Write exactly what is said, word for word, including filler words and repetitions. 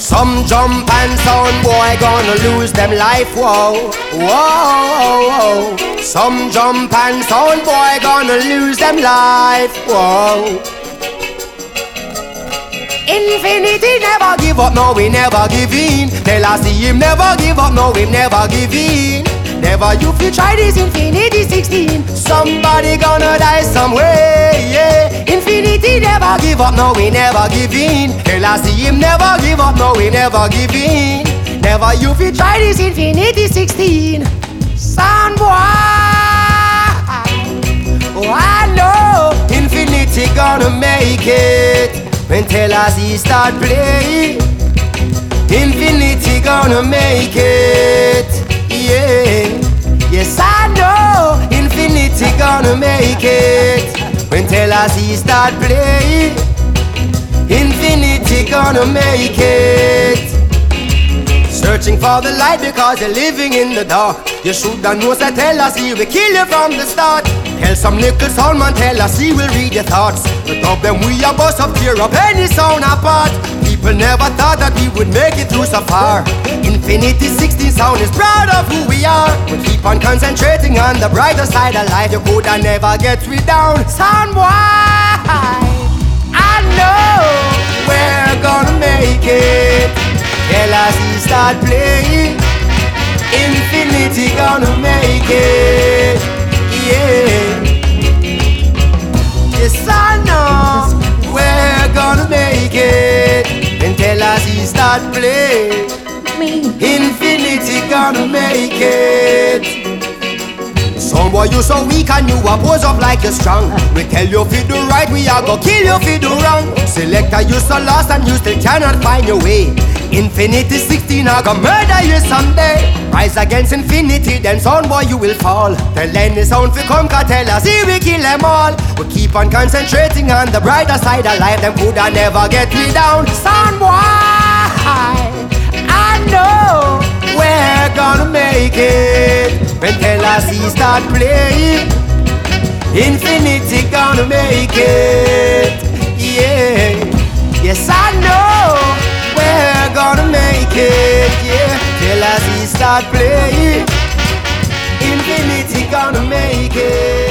Some jump and sound boy gonna lose them life, whoa, whoa, whoa. Some jump and sound boy gonna lose them life, whoa. Infinity never give up, no we never give in. Tell us see him never give up, no him never give in. Never you feel try this Infinity sixteen. Somebody gonna die somewhere, yeah. Infinity never give up, no we never give in. Tell us see him never give up, no we never give in. Never you feel try this Infinity sixteen. Sound boy, oh I know Infinity gonna make it. When tell us he start playing, Infinity gonna make it, yeah. Yes I know Infinity gonna make it. When tell us he start playing, Infinity gonna make it. Searching for the light because you're living in the dark. You shoulda know so tell us he will kill you from the start. Tell some little sound man, tell us he will read your thoughts. But of them we a bust up, tear up any sound apart. People never thought that we would make it through so far. Infinity sixteen sound is proud of who we are. We keep on concentrating on the brighter side of life. You coulda never get we down. Sound boy, I know we're gonna make it. Tell us he start playing, Infinity gonna make it, yeah. Yes I know we're gonna make it. And tell us he start playing, Infinity gonna make it. Some boy you so weak and you a pose up like you're strong. We tell you fi do right, we a go kill you fi do wrong. Selector you so lost and you still cannot find your way. Infinity sixteen a go murder you someday. Rise against Infinity, then sound boy you will fall. Tell any sound fi come, cause tell us he will kill them all. We keep on concentrating on the brighter side of life. Them coulda never get me down. Sound boy, I know we're gonna make it. When tell us he start playing, Infinity gonna make it, yeah. Yes I know we're gonna make it, yeah. Tell us he start playing, Infinity gonna make it.